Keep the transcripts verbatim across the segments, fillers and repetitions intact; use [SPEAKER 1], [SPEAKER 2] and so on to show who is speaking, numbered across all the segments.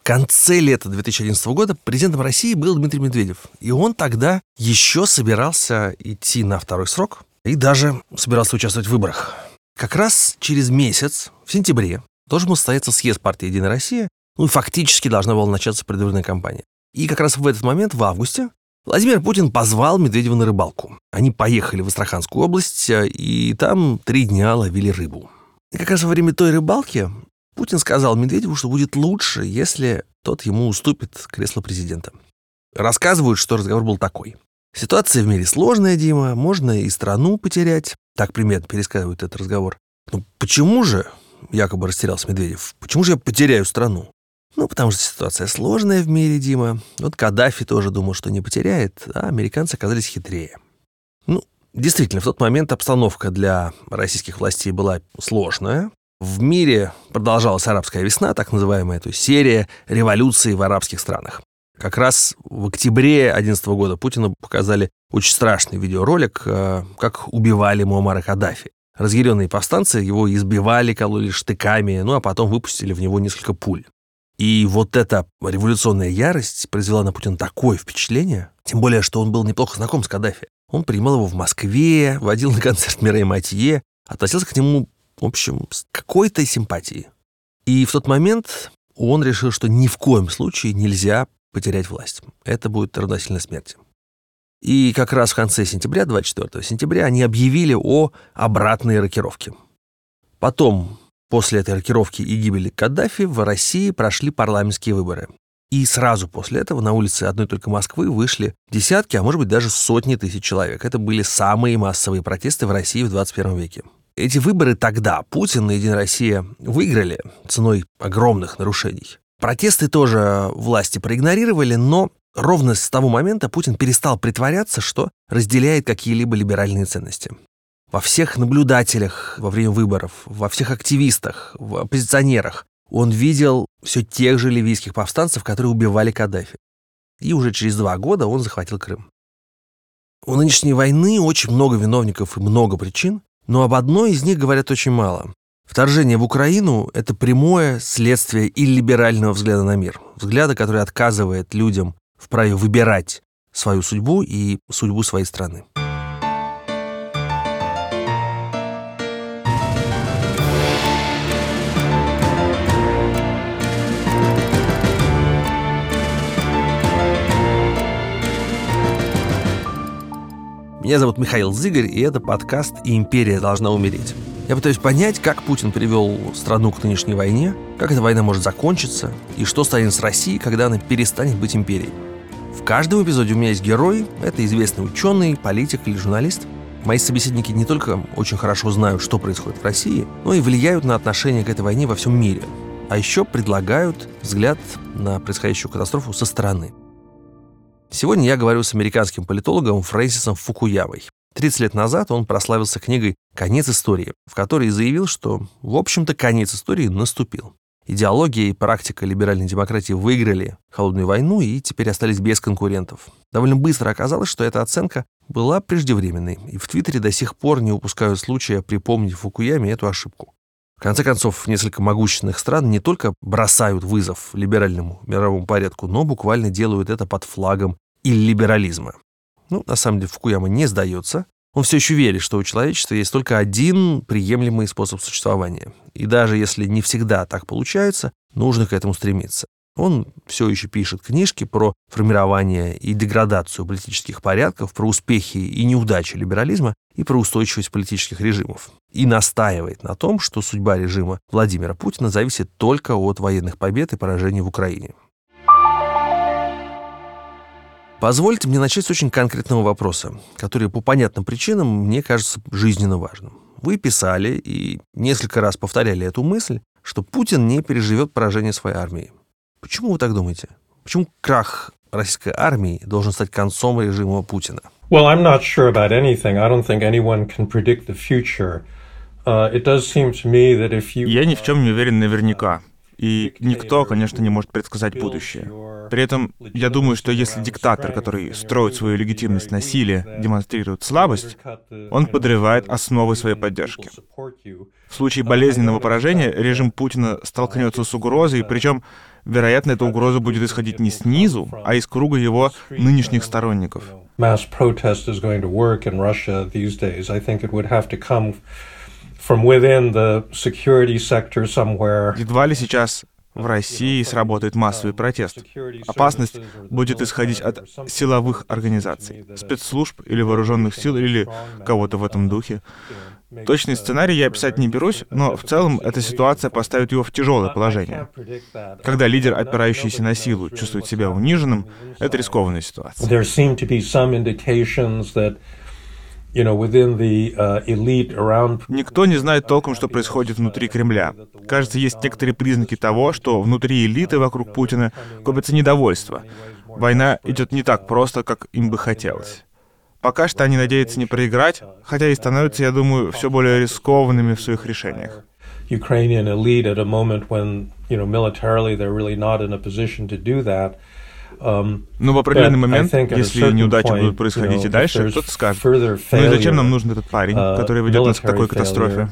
[SPEAKER 1] конце лета две тысячи одиннадцатого года президентом России был Дмитрий Медведев. И он тогда еще собирался идти на второй срок и даже собирался участвовать в выборах. Как раз через месяц, в сентябре, должен был состояться съезд партии «Единая Россия», ну и фактически должна была начаться предвыборная кампания. И как раз в этот момент, в августе, Владимир Путин позвал Медведева на рыбалку. Они поехали в Астраханскую область, и там три дня ловили рыбу. И как раз во время той рыбалки Путин сказал Медведеву, что будет лучше, если тот ему уступит кресло президента. Рассказывают, что разговор был такой. Ситуация в мире сложная, Дима, можно и страну потерять. Так примерно пересказывают этот разговор. Ну почему же, якобы растерялся Медведев, почему же я потеряю страну? Ну, потому что ситуация сложная в мире, Дима. Вот Каддафи тоже думал, что не потеряет, а американцы оказались хитрее. Ну, действительно, в тот момент обстановка для российских властей была сложная. В мире продолжалась арабская весна, так называемая, то есть серия революций в арабских странах. Как раз в октябре две тысячи одиннадцатого года Путину показали очень страшный видеоролик, как убивали Муаммара Каддафи. Разъяренные повстанцы его избивали, кололи штыками, ну а потом выпустили в него несколько пуль. И вот эта революционная ярость произвела на Путина такое впечатление, тем более, что он был неплохо знаком с Каддафи. Он принимал его в Москве, водил на концерт Мирей Матье, относился к нему, в общем, с какой-то симпатией. И в тот момент он решил, что ни в коем случае нельзя потерять власть. Это будет равносильно смерти. И как раз в конце сентября, двадцать четвёртого сентября, они объявили о обратной рокировке. Потом, после этой рокировки и гибели Каддафи, в России прошли парламентские выборы. И сразу после этого на улицы одной только Москвы вышли десятки, а может быть даже сотни тысяч человек. Это были самые массовые протесты в России в двадцать первом веке. Эти выборы тогда Путин и «Единая Россия» выиграли ценой огромных нарушений. Протесты тоже власти проигнорировали, но ровно с того момента Путин перестал притворяться, что разделяет какие-либо либеральные ценности. Во всех наблюдателях во время выборов, во всех активистах, в оппозиционерах он видел все тех же ливийских повстанцев, которые убивали Каддафи. И уже через два года он захватил Крым. У нынешней войны очень много виновников и много причин, но об одной из них говорят очень мало. Вторжение в Украину – это прямое следствие иллиберального взгляда на мир. Взгляда, который отказывает людям в праве выбирать свою судьбу и судьбу своей страны. Меня зовут Михаил Зыгарь, и это подкаст «И империя должна умереть». Я пытаюсь понять, как Путин привел страну к нынешней войне, как эта война может закончиться, и что станет с Россией, когда она перестанет быть империей. В каждом эпизоде у меня есть герой, это известный ученый, политик или журналист. Мои собеседники не только очень хорошо знают, что происходит в России, но и влияют на отношение к этой войне во всем мире. А еще предлагают взгляд на происходящую катастрофу со стороны. Сегодня я говорю с американским политологом Фрэнсисом Фукуямой. тридцать лет назад он прославился книгой «Конец истории», в которой заявил, что, в общем-то, конец истории наступил. Идеология и практика либеральной демократии выиграли холодную войну и теперь остались без конкурентов. Довольно быстро оказалось, что эта оценка была преждевременной, и в Твиттере до сих пор не упускают случая припомнить Фукуяме эту ошибку. В конце концов, несколько могущественных стран не только бросают вызов либеральному мировому порядку, но буквально делают это под флагом иллиберализма. Ну, на самом деле, Фукуяма не сдается. Он все еще верит, что у человечества есть только один приемлемый способ существования. И даже если не всегда так получается, нужно к этому стремиться. Он все еще пишет книжки про формирование и деградацию политических порядков, про успехи и неудачи либерализма и про устойчивость политических режимов. И настаивает на том, что судьба режима Владимира Путина зависит только от военных побед и поражений в Украине. Позвольте мне начать с очень конкретного вопроса, который по понятным причинам мне кажется жизненно важным. Вы писали и несколько раз повторяли эту мысль, что Путин не переживет поражение своей армии. Почему вы так думаете? Почему крах российской армии должен стать концом режима Путина?
[SPEAKER 2] Well, I'm not sure about anything. I don't think anyone can predict the future. Uh, it does seem to me that if you...
[SPEAKER 3] Я ни в чем не уверен наверняка. И никто, конечно, не может предсказать будущее. При этом я думаю, что если диктатор, который строит свою легитимность насилия, демонстрирует слабость, он подрывает основы своей поддержки. В случае болезненного поражения режим Путина столкнется с угрозой, причем, вероятно, эта угроза будет исходить не снизу, а из круга его нынешних сторонников. Едва ли сейчас в России сработает массовый протест. Опасность будет исходить от силовых организаций, спецслужб или вооруженных сил, или кого-то в этом духе. Точный сценарий я описать не берусь, но в целом эта ситуация поставит его в тяжелое положение. Когда лидер, опирающийся на силу, чувствует себя униженным, это рискованная ситуация. Никто не знает толком, что происходит внутри Кремля. Кажется, есть некоторые признаки того, что внутри элиты вокруг Путина копится недовольство. Война идет не так просто, как им бы хотелось. Пока что они надеются не проиграть, хотя и становятся, я думаю, все более рискованными в своих решениях. Но в определенный момент, если неудачи будут происходить и дальше, кто-то скажет: ну и зачем нам нужен этот парень, который ведет нас к такой катастрофе?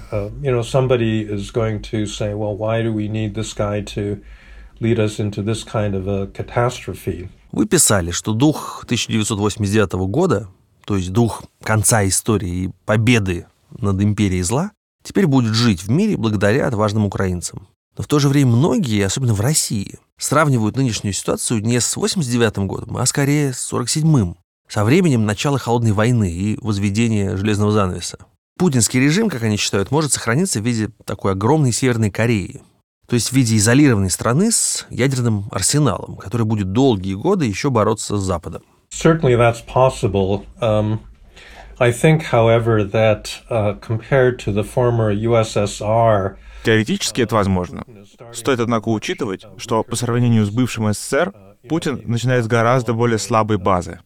[SPEAKER 1] Вы писали, что дух тысяча девятьсот восемьдесят девятого года, то есть дух конца истории и победы над империей зла, теперь будет жить в мире благодаря отважным украинцам. Но в то же время многие, особенно в России, сравнивают нынешнюю ситуацию не с восемьдесят девятым годом, а скорее с сорок седьмым, со временем начала Холодной войны и возведения железного занавеса. Путинский режим, как они считают, может сохраниться в виде такой огромной Северной Кореи, то есть в виде изолированной страны с ядерным арсеналом, который будет долгие годы еще бороться с Западом.
[SPEAKER 2] Certainly that's possible. Um, I think, however, that uh, compared to the former ю эс эс ар,
[SPEAKER 3] теоретически это возможно. Стоит, однако, учитывать, что по сравнению с бывшим эс эс эс эр, Путин начинает с гораздо более слабой базы.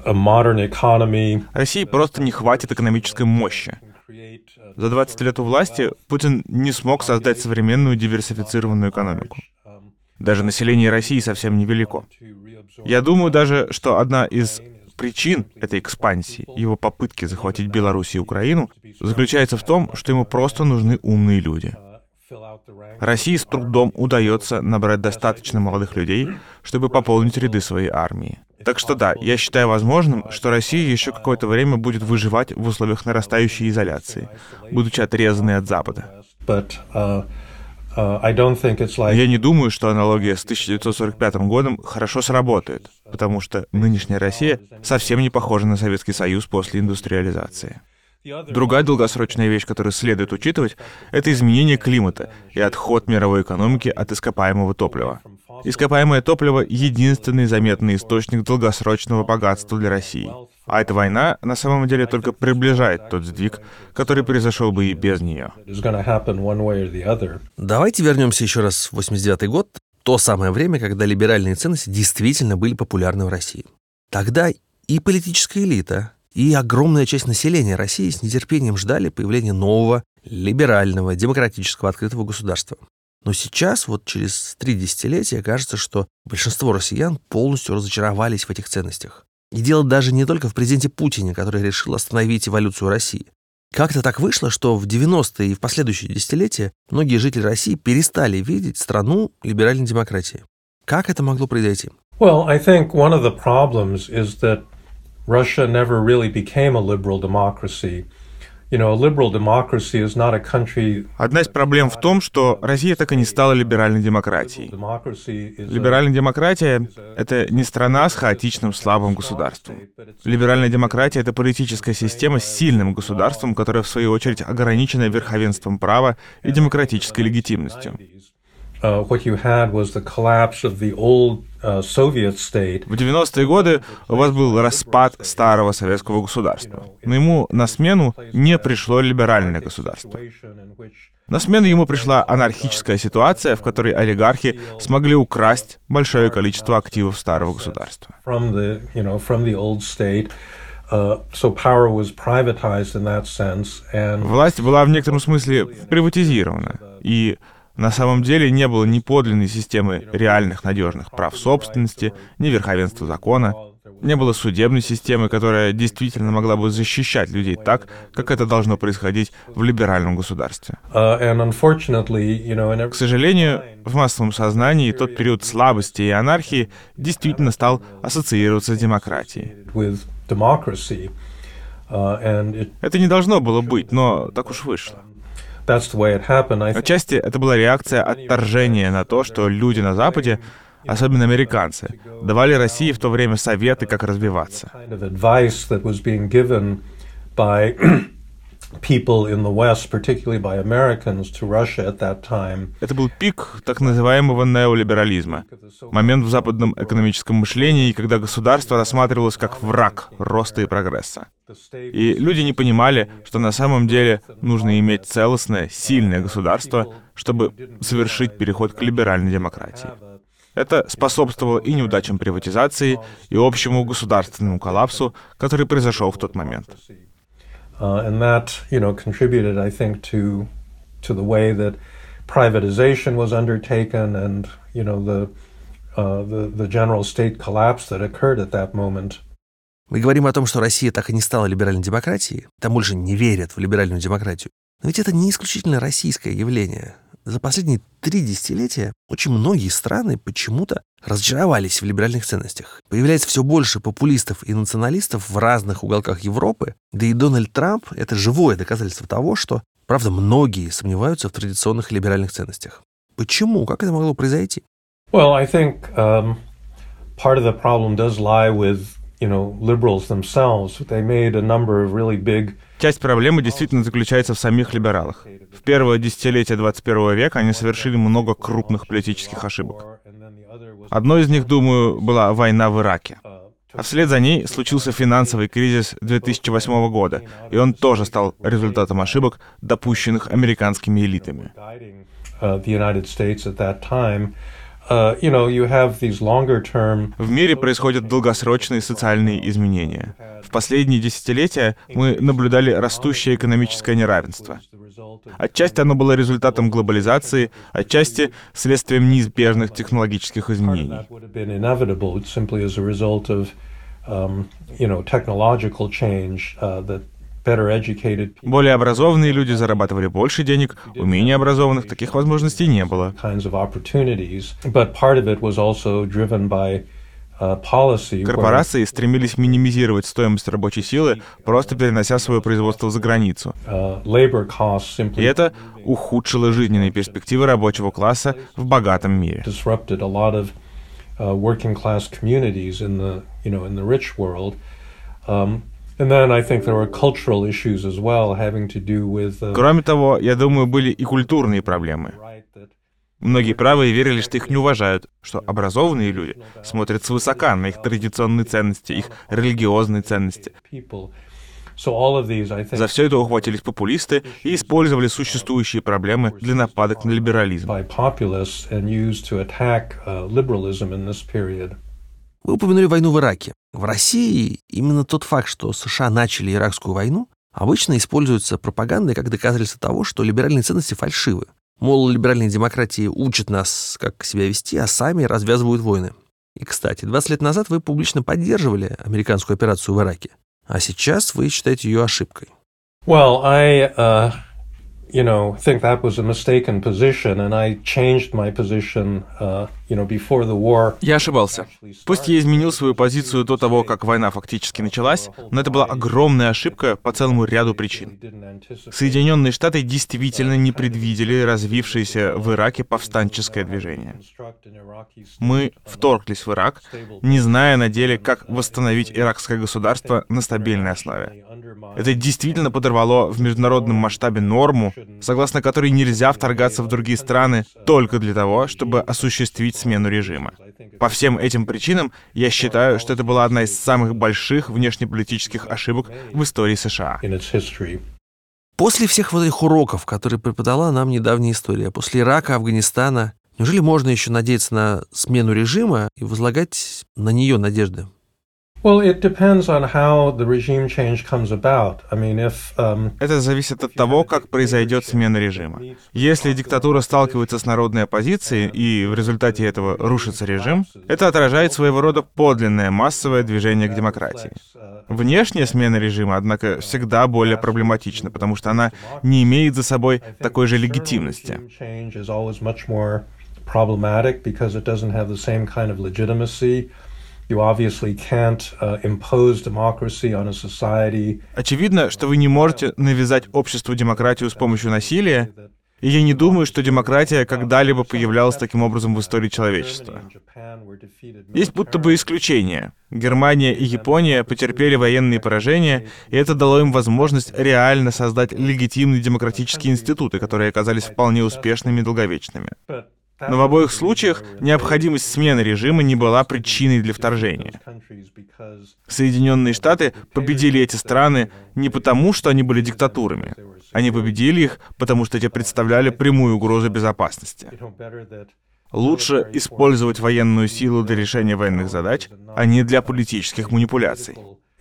[SPEAKER 3] России просто не хватит экономической мощи. За двадцать лет у власти Путин не смог создать современную диверсифицированную экономику. Даже население России совсем невелико. Я думаю даже, что одна из причин этой экспансии, его попытки захватить Беларусь и Украину, заключается в том, что ему просто нужны умные люди. России с трудом удается набрать достаточно молодых людей, чтобы пополнить ряды своей армии. Так что да, я считаю возможным, что Россия еще какое-то время будет выживать в условиях нарастающей изоляции, будучи отрезанной от Запада. Я не думаю, что аналогия с тысяча девятьсот сорок пятым годом хорошо сработает, потому что нынешняя Россия совсем не похожа на Советский Союз после индустриализации. Другая долгосрочная вещь, которую следует учитывать, это изменение климата и отход мировой экономики от ископаемого топлива. Ископаемое топливо — единственный заметный источник долгосрочного богатства для России. А эта война на самом деле только приближает тот сдвиг, который произошел бы и без нее.
[SPEAKER 1] Давайте вернемся еще раз в восемьдесят девятый год, то самое время, когда либеральные ценности действительно были популярны в России. Тогда и политическая элита, и огромная часть населения России с нетерпением ждали появления нового, либерального, демократического, открытого государства. Но сейчас, вот через три десятилетия, кажется, что большинство россиян полностью разочаровались в этих ценностях. И дело даже не только в президенте Путине, который решил остановить эволюцию России. Как-то так вышло, что в девяностые и в последующие десятилетия многие жители России перестали видеть страну либеральной демократии. Как это могло произойти?
[SPEAKER 2] Well, I think one of the problems is that Russia never really became a liberal democracy. You know, a liberal democracy is not a country.
[SPEAKER 3] Одна из проблем в том, что Россия так и не стала либеральной демократией. Либеральная демократия — это не страна с хаотичным слабым государством. Либеральная демократия — это политическая система с сильным государством, которая, в свою очередь, ограничена верховенством права и демократической легитимностью.
[SPEAKER 2] Uh, what you had was the collapse of the old uh, Soviet state.
[SPEAKER 3] В девяностые годы у вас был распад старого советского государства, но ему на смену не пришло либеральное государство. На смену ему пришла анархическая ситуация, в которой олигархи смогли украсть большое количество активов старого государства.
[SPEAKER 2] From the, you know, from the old state. Uh, so power was privatized in that sense, and...
[SPEAKER 3] Власть была в некотором смысле приватизирована, и На самом деле не было ни подлинной системы реальных надежных прав собственности, ни верховенства закона. Не было судебной системы, которая действительно могла бы защищать людей так, как это должно происходить в либеральном государстве. К сожалению, в массовом сознании тот период слабости и анархии действительно стал ассоциироваться с демократией. Это не должно было быть, но так уж вышло. Отчасти это была реакция отторжения на то, что люди на Западе, особенно американцы, давали России в то время советы, как развиваться. Это был пик так называемого неолиберализма, момент в западном экономическом мышлении, когда государство рассматривалось как враг роста и прогресса. И люди не понимали, что на самом деле нужно иметь целостное, сильное государство, чтобы совершить переход к либеральной демократии. Это способствовало и неудачам приватизации, и общему государственному коллапсу, который произошел в тот момент.
[SPEAKER 2] Uh, and that, you know, contributed, I think, to to the way that privatization was undertaken, and you know the uh, the the general state collapse that occurred at that moment.
[SPEAKER 1] Мы говорим о том, что Россия так и не стала либеральной демократией, там больше не верят в либеральную демократию. Но ведь это не исключительно российское явление. За последние три десятилетия очень многие страны почему-то разочаровались в либеральных ценностях. Появляется все больше популистов и националистов в разных уголках Европы. Да и Дональд Трамп — это живое доказательство того, что, правда, многие сомневаются в традиционных либеральных ценностях. Почему? Как это могло произойти?
[SPEAKER 2] Well, I think um, part of the problem does lie with, you know, liberals themselves. They made a number of really big
[SPEAKER 3] Часть проблемы действительно заключается в самих либералах. В первое десятилетие двадцать первого века они совершили много крупных политических ошибок. Одной из них, думаю, была война в Ираке. А вслед за ней случился финансовый кризис две тысячи восьмого года, и он тоже стал результатом ошибок, допущенных американскими элитами. В мире происходят долгосрочные социальные изменения. В последние десятилетия мы наблюдали растущее экономическое неравенство. Отчасти оно было результатом глобализации, отчасти следствием неизбежных технологических изменений. Более образованные люди зарабатывали больше денег, у менее образованных таких возможностей не было. Корпорации стремились минимизировать стоимость рабочей силы, просто перенося свое производство за границу. И это ухудшило жизненные перспективы рабочего класса в богатом мире. Кроме того, я думаю, были и культурные проблемы. Многие правые верили, что их не уважают, что образованные люди смотрят свысока на их традиционные ценности, их религиозные ценности. За все это ухватились популисты и использовали существующие проблемы для нападок на либерализм.
[SPEAKER 1] Вы упомянули войну в Ираке. В России именно тот факт, что США начали иракскую войну, обычно используется пропагандой как доказательство того, что либеральные ценности фальшивы. Мол, либеральные демократии учат нас, как себя вести, а сами развязывают войны. И, кстати, двадцать лет назад вы публично поддерживали американскую операцию в Ираке, а сейчас вы считаете ее ошибкой.
[SPEAKER 2] Well, I, uh, you know, think that was a mistaken position, and I changed my position, uh, you know, before the war.
[SPEAKER 3] Я ошибался. Пусть я изменил свою позицию до того, как война фактически началась, но это была огромная ошибка по целому ряду причин. Соединенные Штаты действительно не предвидели развившееся в Ираке повстанческое движение. Мы вторглись в Ирак, не зная на деле, как восстановить иракское государство на стабильной основе. Это действительно подорвало в международном масштабе норму, согласно которой нельзя вторгаться в другие страны только для того, чтобы осуществить смену режима. По всем этим причинам я считаю, что это была одна из самых больших внешнеполитических ошибок в истории США.
[SPEAKER 1] После всех вот этих уроков, которые преподала нам недавняя история, после Ирака, Афганистана, неужели можно еще надеяться на смену режима и возлагать на нее надежды?
[SPEAKER 2] Well, it depends on how the regime change comes about. I mean, if, um,
[SPEAKER 3] Это зависит от того, как произойдет смена режима. Если диктатура сталкивается с народной оппозицией, и в результате этого рушится режим, это отражает своего рода подлинное массовое движение к демократии. Внешняя смена режима, однако, всегда более проблематична, потому что она не имеет за собой такой же легитимности. You obviously can't uh, impose democracy on a society. Очевидно, что вы не можете навязать обществу демократию с помощью насилия, и я не думаю, что демократия когда-либо появлялась таким образом в истории человечества. Есть будто бы исключения. Германия и Япония потерпели военные поражения, и это дало им возможность реально создать легитимные демократические институты, которые оказались вполне успешными и долговечными. Но в обоих случаях необходимость смены режима не была причиной для вторжения. Соединенные Штаты победили эти страны не потому, что они были диктатурами. Они победили их, потому что те представляли прямую угрозу безопасности. Лучше использовать военную силу для решения военных задач, а не для политических манипуляций.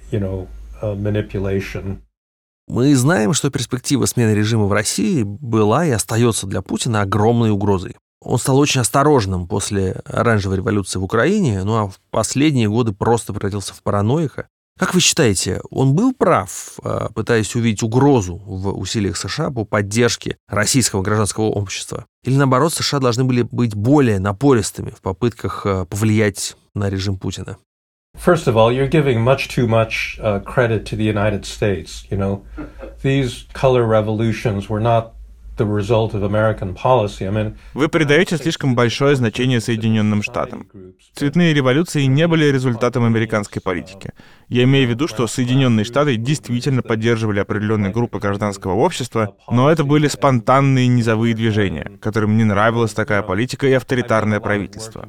[SPEAKER 1] Мы знаем, что перспектива смены режима в России была и остается для Путина огромной угрозой. Он стал очень осторожным после оранжевой революции в Украине, ну а в последние годы просто превратился в параноика. Как вы считаете, он был прав, пытаясь увидеть угрозу в усилиях США по поддержке российского гражданского общества? Или наоборот, США должны были быть более напористыми в попытках повлиять на режим Путина?
[SPEAKER 2] First of all, you're giving much too much uh, credit to the United States. You know, these color revolutions were not the result of American policy. I mean,
[SPEAKER 3] Вы придаете слишком большое значение Соединенным Штатам. Цветные революции не были результатом американской политики. Я имею в виду, что Соединенные Штаты действительно поддерживали определенные группы гражданского общества, но это были спонтанные низовые движения, которым не нравилась такая политика и авторитарное правительство.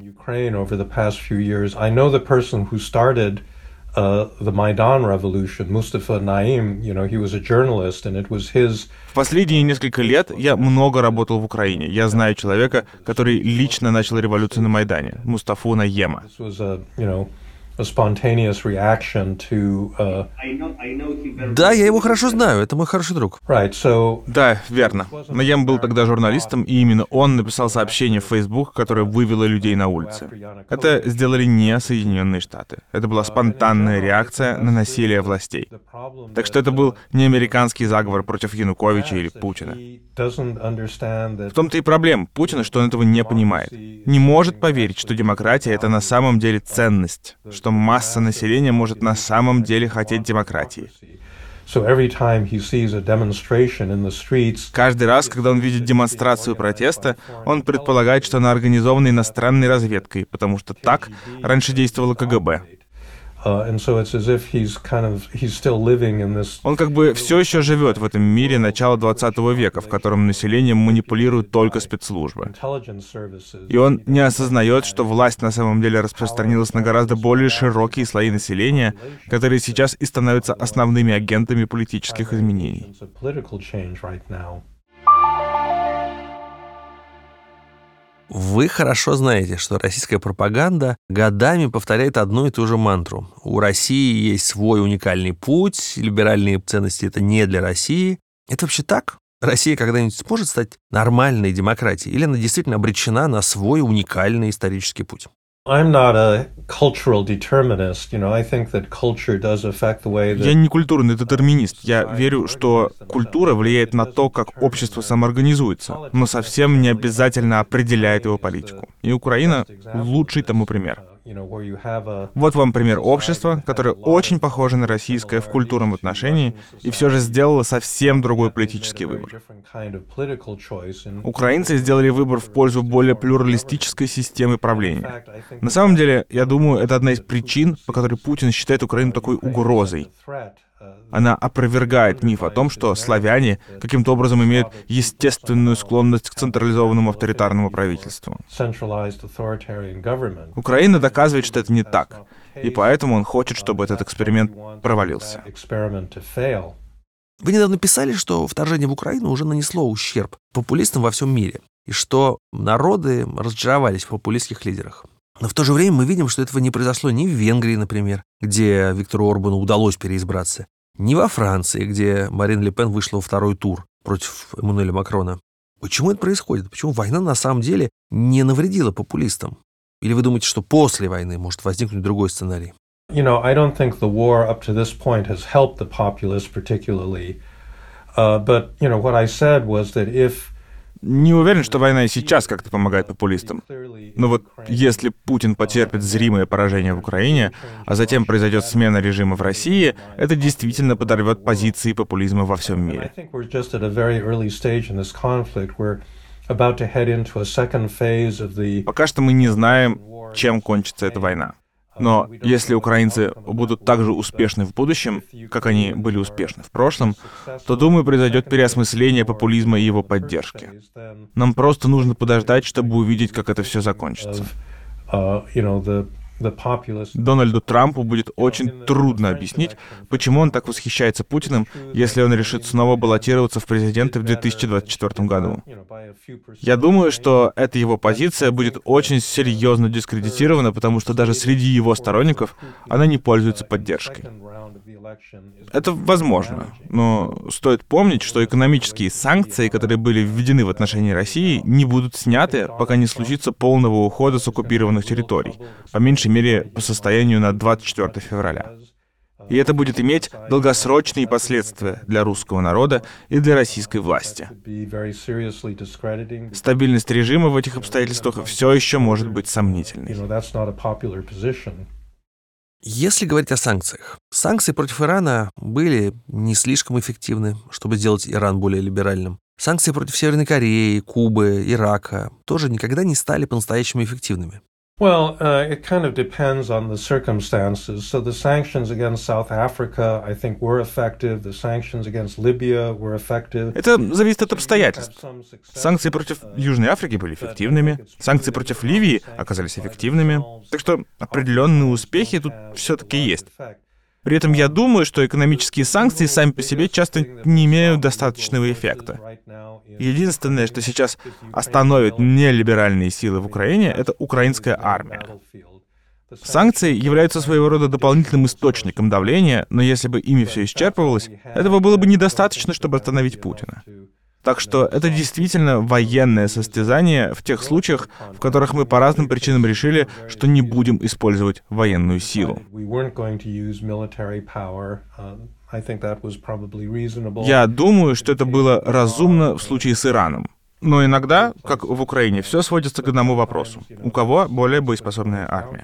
[SPEAKER 2] Uh, the Maidan Revolution, Mustafa Naim, you know, he was a journalist, and it was his...
[SPEAKER 3] В последние несколько лет я много работал в Украине. Я знаю человека, который лично начал революцию на Майдане, Мустафу Наема.
[SPEAKER 2] This was a, you know, a spontaneous reaction to... Uh...
[SPEAKER 1] Да, я его хорошо знаю, это мой хороший друг.
[SPEAKER 2] Right, so...
[SPEAKER 3] Да, верно. Наем был тогда журналистом, и именно он написал сообщение в Facebook, которое вывело людей на улицы. Это сделали не Соединенные Штаты. Это была спонтанная реакция на насилие властей. Так что это был не американский заговор против Януковича или Путина. В том-то и проблема Путина, что он этого не понимает. Не может поверить, что демократия — это на самом деле ценность, что масса населения может на самом деле хотеть демократии. Каждый раз, когда он видит демонстрацию протеста, он предполагает, что она организована иностранной разведкой, потому что так раньше действовало ка гэ бэ. Он как бы все еще живет в этом мире начала двадцатого века, в котором населением манипулируют только спецслужбы. И он не осознает, что власть на самом деле распространилась на гораздо более широкие слои населения, которые сейчас и становятся основными агентами политических изменений.
[SPEAKER 1] Вы хорошо знаете, что российская пропаганда годами повторяет одну и ту же мантру. У России есть свой уникальный путь, либеральные ценности — это не для России. Это вообще так? Россия когда-нибудь сможет стать нормальной демократией? Или она действительно обречена на свой уникальный исторический путь?
[SPEAKER 2] Я
[SPEAKER 3] не культурный детерминист. Я верю, что культура влияет на то, как общество самоорганизуется, но совсем не обязательно определяет его политику. И Украина — лучший тому пример. Вот вам пример общества, которое очень похоже на российское в культурном отношении и все же сделало совсем другой политический выбор. Украинцы сделали выбор в пользу более плюралистической системы правления. На самом деле, я думаю, это одна из причин, по которой Путин считает Украину такой угрозой. Она опровергает миф о том, что славяне каким-то образом имеют естественную склонность к централизованному авторитарному правительству. Украина доказывает, что это не так, и поэтому он хочет, чтобы этот эксперимент провалился.
[SPEAKER 1] Вы недавно писали, что вторжение в Украину уже нанесло ущерб популистам во всем мире, и что народы разочаровались в популистских лидерах. Но в то же время мы видим, что этого не произошло ни в Венгрии, например, где Виктору Орбану удалось переизбраться, ни во Франции, где Марин Ле Пен вышла во второй тур против Эммануэля Макрона. Почему это происходит? Почему война на самом деле не навредила популистам? Или вы думаете, что после войны может возникнуть другой сценарий?
[SPEAKER 2] You know, I don't think the war up to this point has helped the populists particularly. Uh, but, you know, what I said was that if
[SPEAKER 3] Не уверен, что война и сейчас как-то помогает популистам. Но вот если Путин потерпит зримое поражение в Украине, а затем произойдет смена режима в России, это действительно подорвет позиции популизма во всем мире. Пока что мы не знаем, чем кончится эта война. Но если украинцы будут так же успешны в будущем, как они были успешны в прошлом, то, думаю, произойдет переосмысление популизма и его поддержки. Нам просто нужно подождать, чтобы увидеть, как это все закончится. Дональду Трампу будет очень трудно объяснить, почему он так восхищается Путиным, если он решит снова баллотироваться в президенты в две тысячи двадцать четвёртом году. Я думаю, что эта его позиция будет очень серьезно дискредитирована, потому что даже среди его сторонников она не пользуется поддержкой. Это возможно, но стоит помнить, что экономические санкции, которые были введены в отношении России, не будут сняты, пока не случится полного ухода с оккупированных территорий, по меньшей мере по состоянию на двадцать четвёртое февраля. И это будет иметь долгосрочные последствия для русского народа и для российской власти. Стабильность режима в этих обстоятельствах все еще может быть сомнительной.
[SPEAKER 1] Если говорить о санкциях, санкции против Ирана были не слишком эффективны, чтобы сделать Иран более либеральным. Санкции против Северной Кореи, Кубы, Ирака тоже никогда не стали по-настоящему эффективными.
[SPEAKER 2] Well, uh, it kind of depends on the circumstances. So the sanctions against South Africa, I think, were effective. The sanctions against Libya were effective.
[SPEAKER 3] Это зависит от обстоятельств. Санкции против Южной Африки были эффективными, санкции против Ливии оказались эффективными. Так что определенные успехи тут все-таки есть. При этом я думаю, что экономические санкции сами по себе часто не имеют достаточного эффекта. Единственное, что сейчас остановит нелиберальные силы в Украине, это украинская армия. Санкции являются своего рода дополнительным источником давления, но если бы ими все исчерпывалось, этого было бы недостаточно, чтобы остановить Путина. Так что это действительно военное состязание в тех случаях, в которых мы по разным причинам решили, что не будем использовать военную силу. Я думаю, что это было разумно в случае с Ираном. Но иногда, как в Украине, все сводится к одному вопросу. У кого более боеспособная армия?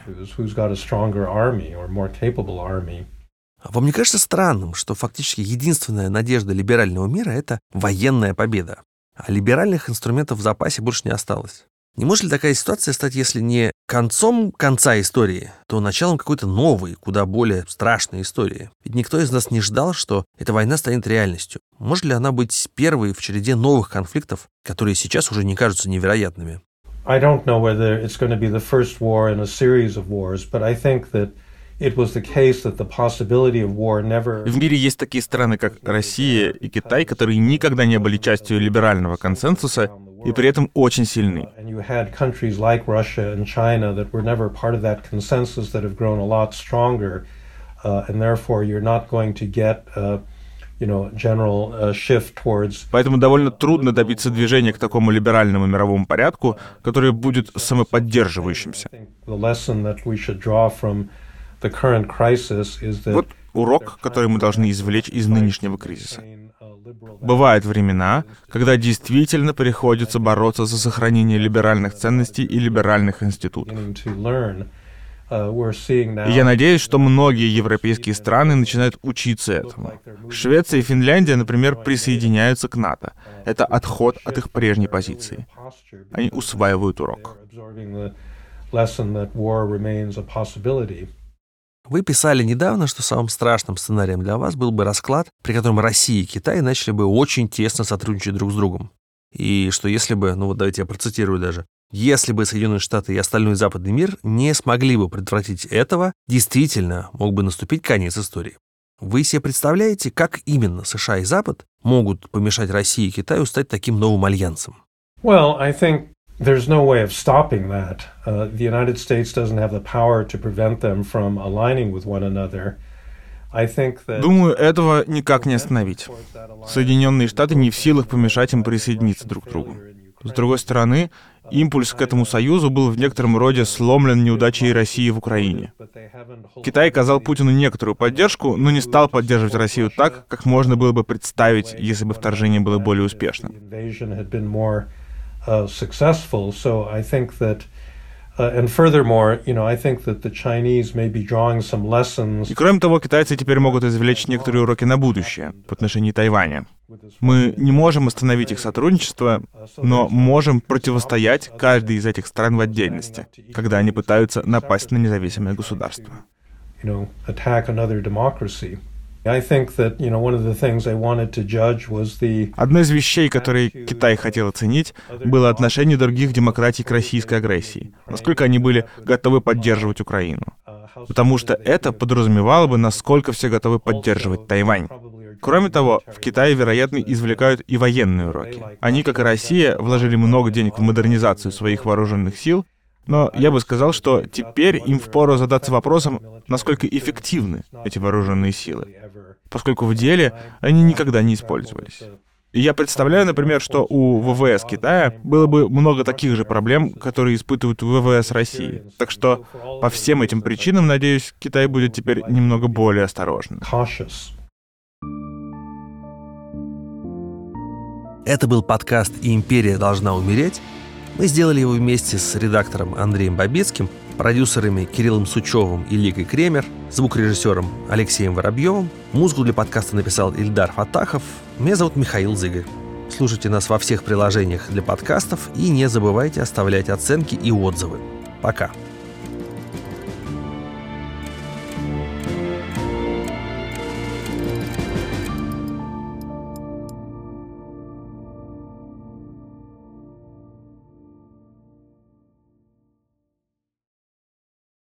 [SPEAKER 1] Вам не кажется странным, что фактически единственная надежда либерального мира — это военная победа, а либеральных инструментов в запасе больше не осталось? Не может ли такая ситуация стать, если не концом конца истории, то началом какой-то новой, куда более страшной истории? Ведь никто из нас не ждал, что эта война станет реальностью. Может ли она быть первой в череде новых конфликтов, которые сейчас уже не кажутся невероятными?
[SPEAKER 2] I don't know whether it's going to be the first war in a series of wars, but I think that В
[SPEAKER 3] мире есть такие страны, как Россия и Китай, которые никогда не были частью либерального консенсуса и при этом очень сильны. Поэтому довольно трудно добиться движения к такому либеральному мировому порядку, который будет самоподдерживающимся. Вот урок, который мы должны извлечь из нынешнего кризиса. Бывают времена, когда действительно приходится бороться за сохранение либеральных ценностей и либеральных институтов. И я надеюсь, что многие европейские страны начинают учиться этому. Швеция и Финляндия, например, присоединяются к НАТО. Это отход от их прежней позиции. Они усваивают урок.
[SPEAKER 1] Вы писали недавно, что самым страшным сценарием для вас был бы расклад, при котором Россия и Китай начали бы очень тесно сотрудничать друг с другом. И что если бы, ну вот давайте я процитирую даже, если бы Соединенные Штаты и остальной западный мир не смогли бы предотвратить этого, действительно мог бы наступить конец истории. Вы себе представляете, как именно США и Запад могут помешать России и Китаю стать таким новым альянсом?
[SPEAKER 2] Well, I think there's no way of stopping that. Uh, the United States doesn't have the power to prevent them from aligning with one another. I think that...
[SPEAKER 3] Думаю, этого никак не остановить. Соединенные Штаты не в силах помешать им присоединиться друг к другу. С другой стороны, импульс к этому союзу был в некотором роде сломлен неудачей России в Украине. Китай оказал Путину некоторую поддержку, но не стал поддерживать Россию так, как можно было бы представить, если бы вторжение было более успешным. И кроме того, китайцы теперь могут извлечь некоторые уроки на будущее в отношении Тайваня. Мы не можем остановить их сотрудничество, но можем противостоять каждой из этих стран в отдельности, когда они пытаются напасть на независимое государство. Одной из вещей, которые Китай хотел оценить, было отношение других демократий к российской агрессии, насколько они были готовы поддерживать Украину. Потому что это подразумевало бы, насколько все готовы поддерживать Тайвань. Кроме того, в Китае, вероятно, извлекают и военные уроки. Они, как и Россия, вложили много денег в модернизацию своих вооруженных сил, но я бы сказал, что теперь им впору задаться вопросом, насколько эффективны эти вооруженные силы, поскольку в деле они никогда не использовались. И я представляю, например, что у ВВС Китая было бы много таких же проблем, которые испытывают ВВС России. Так что по всем этим причинам, надеюсь, Китай будет теперь немного более осторожным.
[SPEAKER 1] Это был подкаст «Империя должна умереть». Мы сделали его вместе с редактором Андреем Бабицким, продюсерами Кириллом Сучевым и Ликой Кремер, звукорежиссером Алексеем Воробьевым. Музыку для подкаста написал Ильдар Фатахов. Меня зовут Михаил Зыгарь. Слушайте нас во всех приложениях для подкастов и не забывайте оставлять оценки и отзывы. Пока.